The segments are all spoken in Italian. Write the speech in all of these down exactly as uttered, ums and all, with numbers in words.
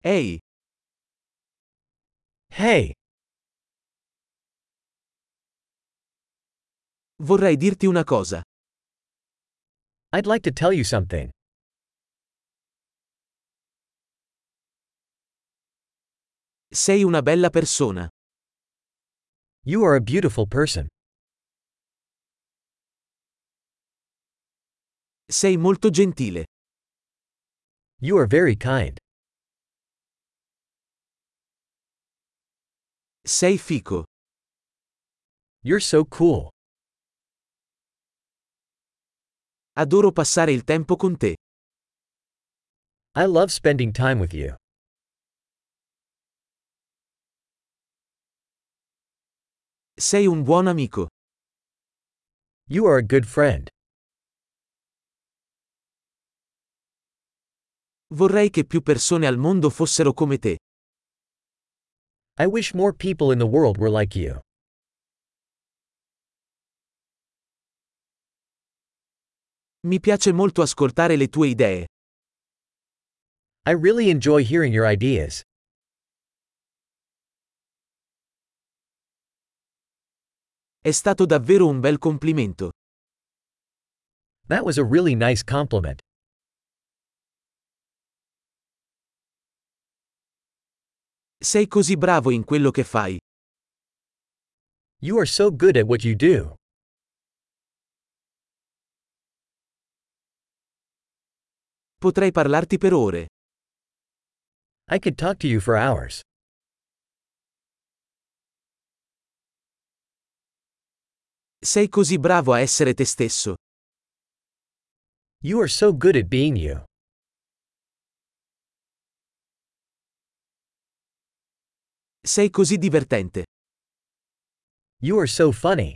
Ehi, Hey, vorrei dirti una cosa. I'd like to tell you something. Sei una bella persona. You are a beautiful person. Sei molto gentile. You are very kind. Sei fico. You're so cool. Adoro passare il tempo con te. I love spending time with you. Sei un buon amico. You are a good friend. Vorrei che più persone al mondo fossero come te. I wish more people in the world were like you. Mi piace molto ascoltare le tue idee. I really enjoy hearing your ideas. È stato davvero un bel complimento. That was a really nice compliment. Sei così bravo in quello che fai. You are so good at what you do. Potrei parlarti per ore. I could talk to you for hours. Sei così bravo a essere te stesso. You are so good at being you. Sei così divertente. You are so funny.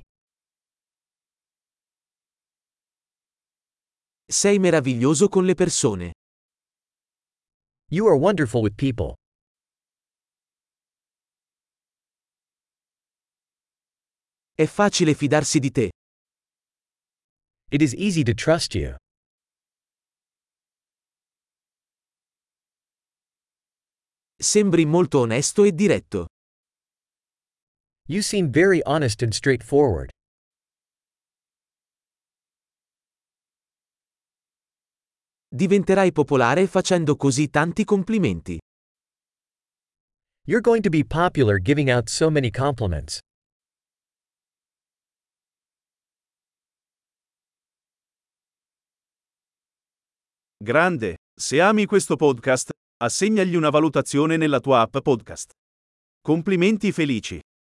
Sei meraviglioso con le persone. You are wonderful with people. È facile fidarsi di te. It is easy to trust you. Sembri molto onesto e diretto. You seem very honest and straightforward. Diventerai popolare facendo così tanti complimenti. You're going to be popular giving out so many compliments. Grande, se ami questo podcast, assegnagli una valutazione nella tua app podcast. Complimenti felici.